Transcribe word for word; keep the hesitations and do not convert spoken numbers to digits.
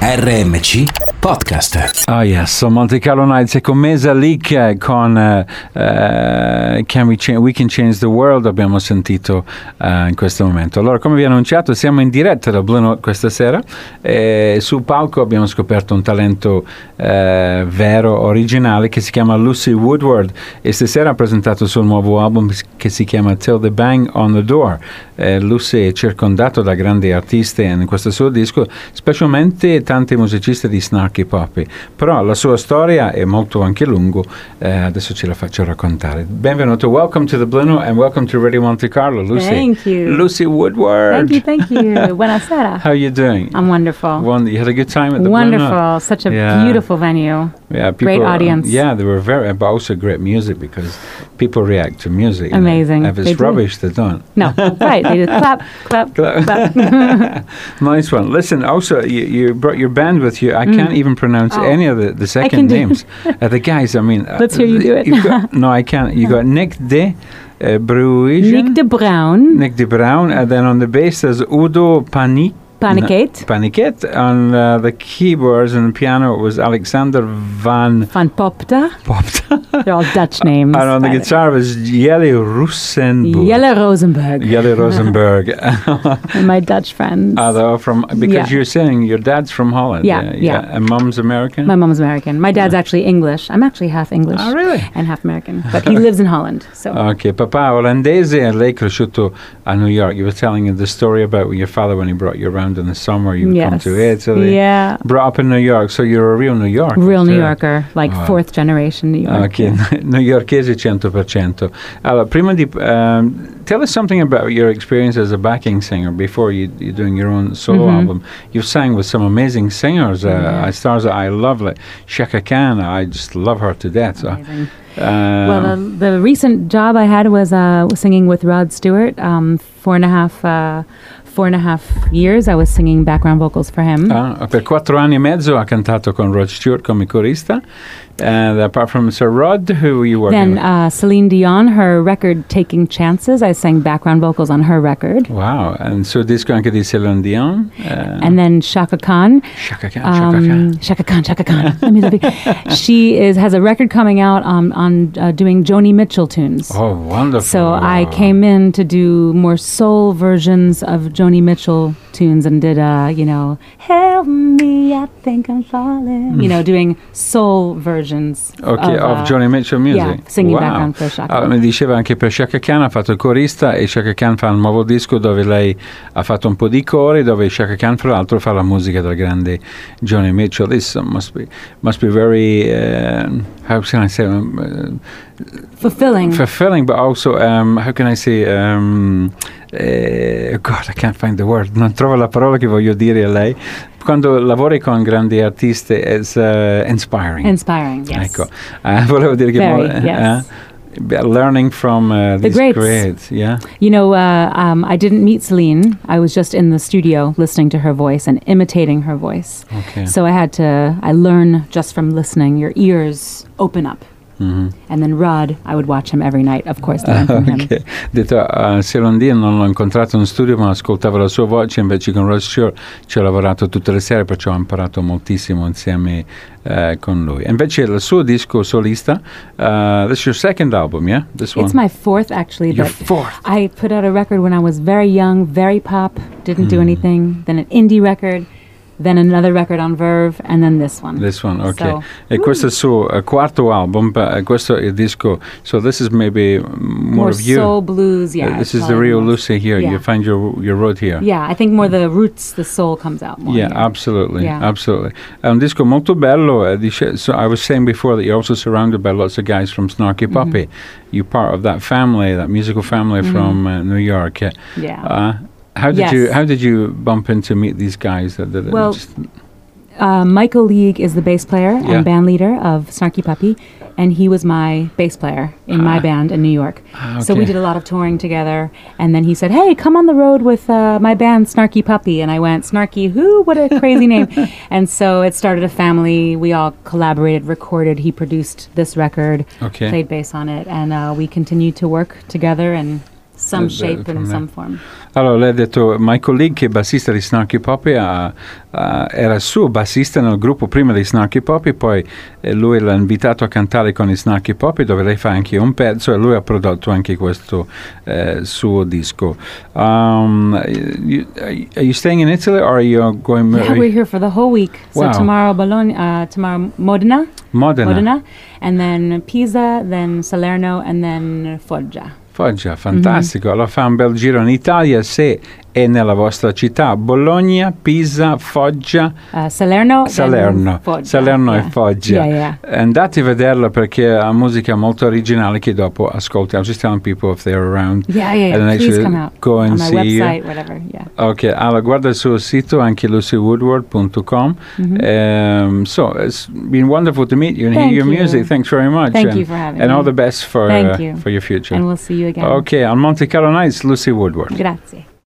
R M C Podcast. Oh yes, so Monte Carlo Nights e con Mesa Leak con uh, uh, Can We Change, We Can Change the World abbiamo sentito uh, in questo momento. Allora, come vi ho annunciato, siamo in diretta da Blue Note questa sera e sul palco abbiamo scoperto un talento uh, vero, originale, che si chiama Lucy Woodward e stasera ha presentato il suo nuovo album che si chiama Till the Bang on the Door. Uh, Lucy è circondato da grandi artisti in questo suo disco, specialmente tanti musicisti di Snarky Puppy, però la sua storia è molto anche lungo, eh, adesso ce la faccio raccontare. Benvenuto, welcome to the Blue Note and welcome to Radio Monte Carlo, Lucy. Thank you. Lucy Woodward. Thank you, thank you. Buonasera. How are you doing? I'm wonderful. One, you had a good time at the Wonderful. Blue Note? Such a Yeah. beautiful venue. Yeah, people, Great audience. Yeah, they were very, but also great music because people react to music. you know. Amazing. If it's They do. rubbish, they don't. No, that's right. They just clap, clap, clap. Nice one. Listen, also, you, you brought your band with you. I Mm. can't even pronounce Oh. any of the, the second can do names. uh, the guys, I mean. uh, Let's hear you do it. you've got, no, I can't. You got Nick de uh, Bruigen. Nick de Bruin, Nick de Bruin. And then on the bass, there's Udo Panik. Panicate, Paniket. On uh, the keyboards and the piano, it was Alexander van Van Popta. Popta. They're all Dutch names. And on the by guitar was Jelle Rosenberg. Jelle Rosenberg. Jelle Rosenberg. And my Dutch friends. Are they from, because Yeah. you're saying your dad's from Holland. Yeah, yeah. And mom's American? My mom's American. My dad's actually English. I'm actually half English Oh, really? and half American, but he lives in Holland. So Ok, papà olandese e lei è cresciuto a New York. You were telling the story about your father when he brought you around in the summer. You would come yes, to Italy. yeah, Brought up in New York, so you're a real New Yorker. real New too. Yorker, like Oh. fourth generation New York. Ok, newyorkese cento per cento. Allora, prima di... Um, tell us something about your experience as a backing singer before you, you're doing your own solo Mhm. album. You've sang with some amazing singers. Uh, Yeah. Stars that I love, like Chaka Khan. I just love her to death. So, Amazing. um, Well, the, the recent job I had was uh, singing with Rod Stewart. Um, four and a half, uh, four and a half years. I was singing background vocals for him. Ah, per quattro anni e mezzo ha cantato con Rod Stewart come corista. And apart from Sir Rod, who were you working Then with? uh, Celine Dion, her record "Taking Chances." I sang background vocals on her record. Wow, and so disco anche di Celine Dion. Uh, And then Shaka Khan. Chaka Khan, Chaka Khan. Um, Shaka Khan, Shaka Khan. Let me love you. She is has a record coming out um, on uh, doing Joni Mitchell tunes. Oh, wonderful. So I came in to do more soul versions of Joni Mitchell tunes and did, uh, you know, help me, I think I'm falling. You know, doing soul versions. Ok, of, of uh, Joni Mitchell music. Yeah, singing Wow. background for Shaka. Allora, mi diceva anche per Chaka Khan ha fatto il corista e Chaka Khan fa un nuovo disco dove lei ha fatto un po' di cori, dove Chaka Khan fra l'altro fa la musica del grande Joni Mitchell. This must be must be very uh, how can I say um, Fulfilling. fulfilling, but also um, how can I say um, eh, God, I can't find the word. Non trovo la parola che voglio dire a lei. Quando lavori con grandi artisti, it's uh, inspiring. Inspiring, yes. Ecco, eh, volevo dire che Very, mo- yes. eh, learning from uh, these greats. greats, yeah. You know, uh, um, I didn't meet Celine. I was just in the studio listening to her voice and imitating her voice. Okay. So I had to, I learn just from listening. Your ears open up. Mhm. And then Rod, I would watch him every night, of course, to learn from him. Ok, detto uh, Celine Dion non l'ho incontrato in studio ma ascoltavo la sua voce, invece con Rod Stewart ci ho lavorato tutte le sere, perciò ho imparato moltissimo insieme uh, con lui. E invece il suo disco solista, uh, this is your second album, yeah? This one? It's my fourth, actually. Your but fourth. I put out a record when I was very young, very pop, didn't Hmm. do anything. Then an indie record, then another record on Verve, and then this one. This one, ok. So- E questo è il suo uh, quarto album, but, uh, questo è il disco, so this is maybe more, More of you. soul blues, yeah. Uh, this it's is the probably real most- Lucy here. yeah. You find your your road here. Yeah, I think more the roots, the soul comes out more. Yeah, here. absolutely, Yeah. absolutely. È un disco molto bello. eh, dice- so I was saying before that you're also surrounded by lots of guys from Snarky Puppy. You're part of that family, that musical family Mhm. from uh, New York. Uh, Yeah. uh, how did Yes. you How did you bump into meet these guys? That, that, that Well, just- Uh, Michael League is the bass player Yeah. and band leader of Snarky Puppy, and he was my bass player in my Ah. band in New York. Ah, So we okay. did a lot of touring together, and then he said, "Hey, come on the road with uh, my band Snarky Puppy," and I went, "Snarky who? What a crazy name!" And so it started a family. We all collaborated, recorded. He produced this record, Okay. played bass on it, and uh, we continued to work together and some Uh, shape from in there. some form. Allora, lei ha detto, Michael League, che è bassista di Snarky Puppy, ha- ha- era suo bassista nel gruppo prima di Snarky Puppy, poi eh, lui l'ha invitato a cantare con i Snarky Puppy, dove lei fa anche un pezzo, e lui ha prodotto anche questo eh, suo disco. Um, you, are you staying in Italy, or are you going... Yeah, we're here for the whole week. So Wow. tomorrow Bologna, uh, tomorrow Modena, Modena. Modena, and then Pisa, then Salerno, and then Foggia. Foggia, fantastico. Allora fa un bel giro in Italia, se è nella vostra città. Bologna, Pisa, Foggia, Uh, Salerno, then Salerno, Foggia. Salerno yeah. e Foggia. Yeah, yeah. Andate a vederla perché ha musica molto originale che dopo ascolti. I was just telling people if they're around. Yeah, yeah, yeah. and then Please actually come out go and on my see you. website, whatever. Yeah. Ok, allora guarda il suo sito, anche lucy woodward dot com. Um, so it's been wonderful to meet you and Thank hear your you. music. Thanks very much. Thank and, you for having And me. all the best for, Thank uh, you. for your future. And we'll see you again. Ok, on Monte Carlo Nights, Lucy Woodward. Grazie.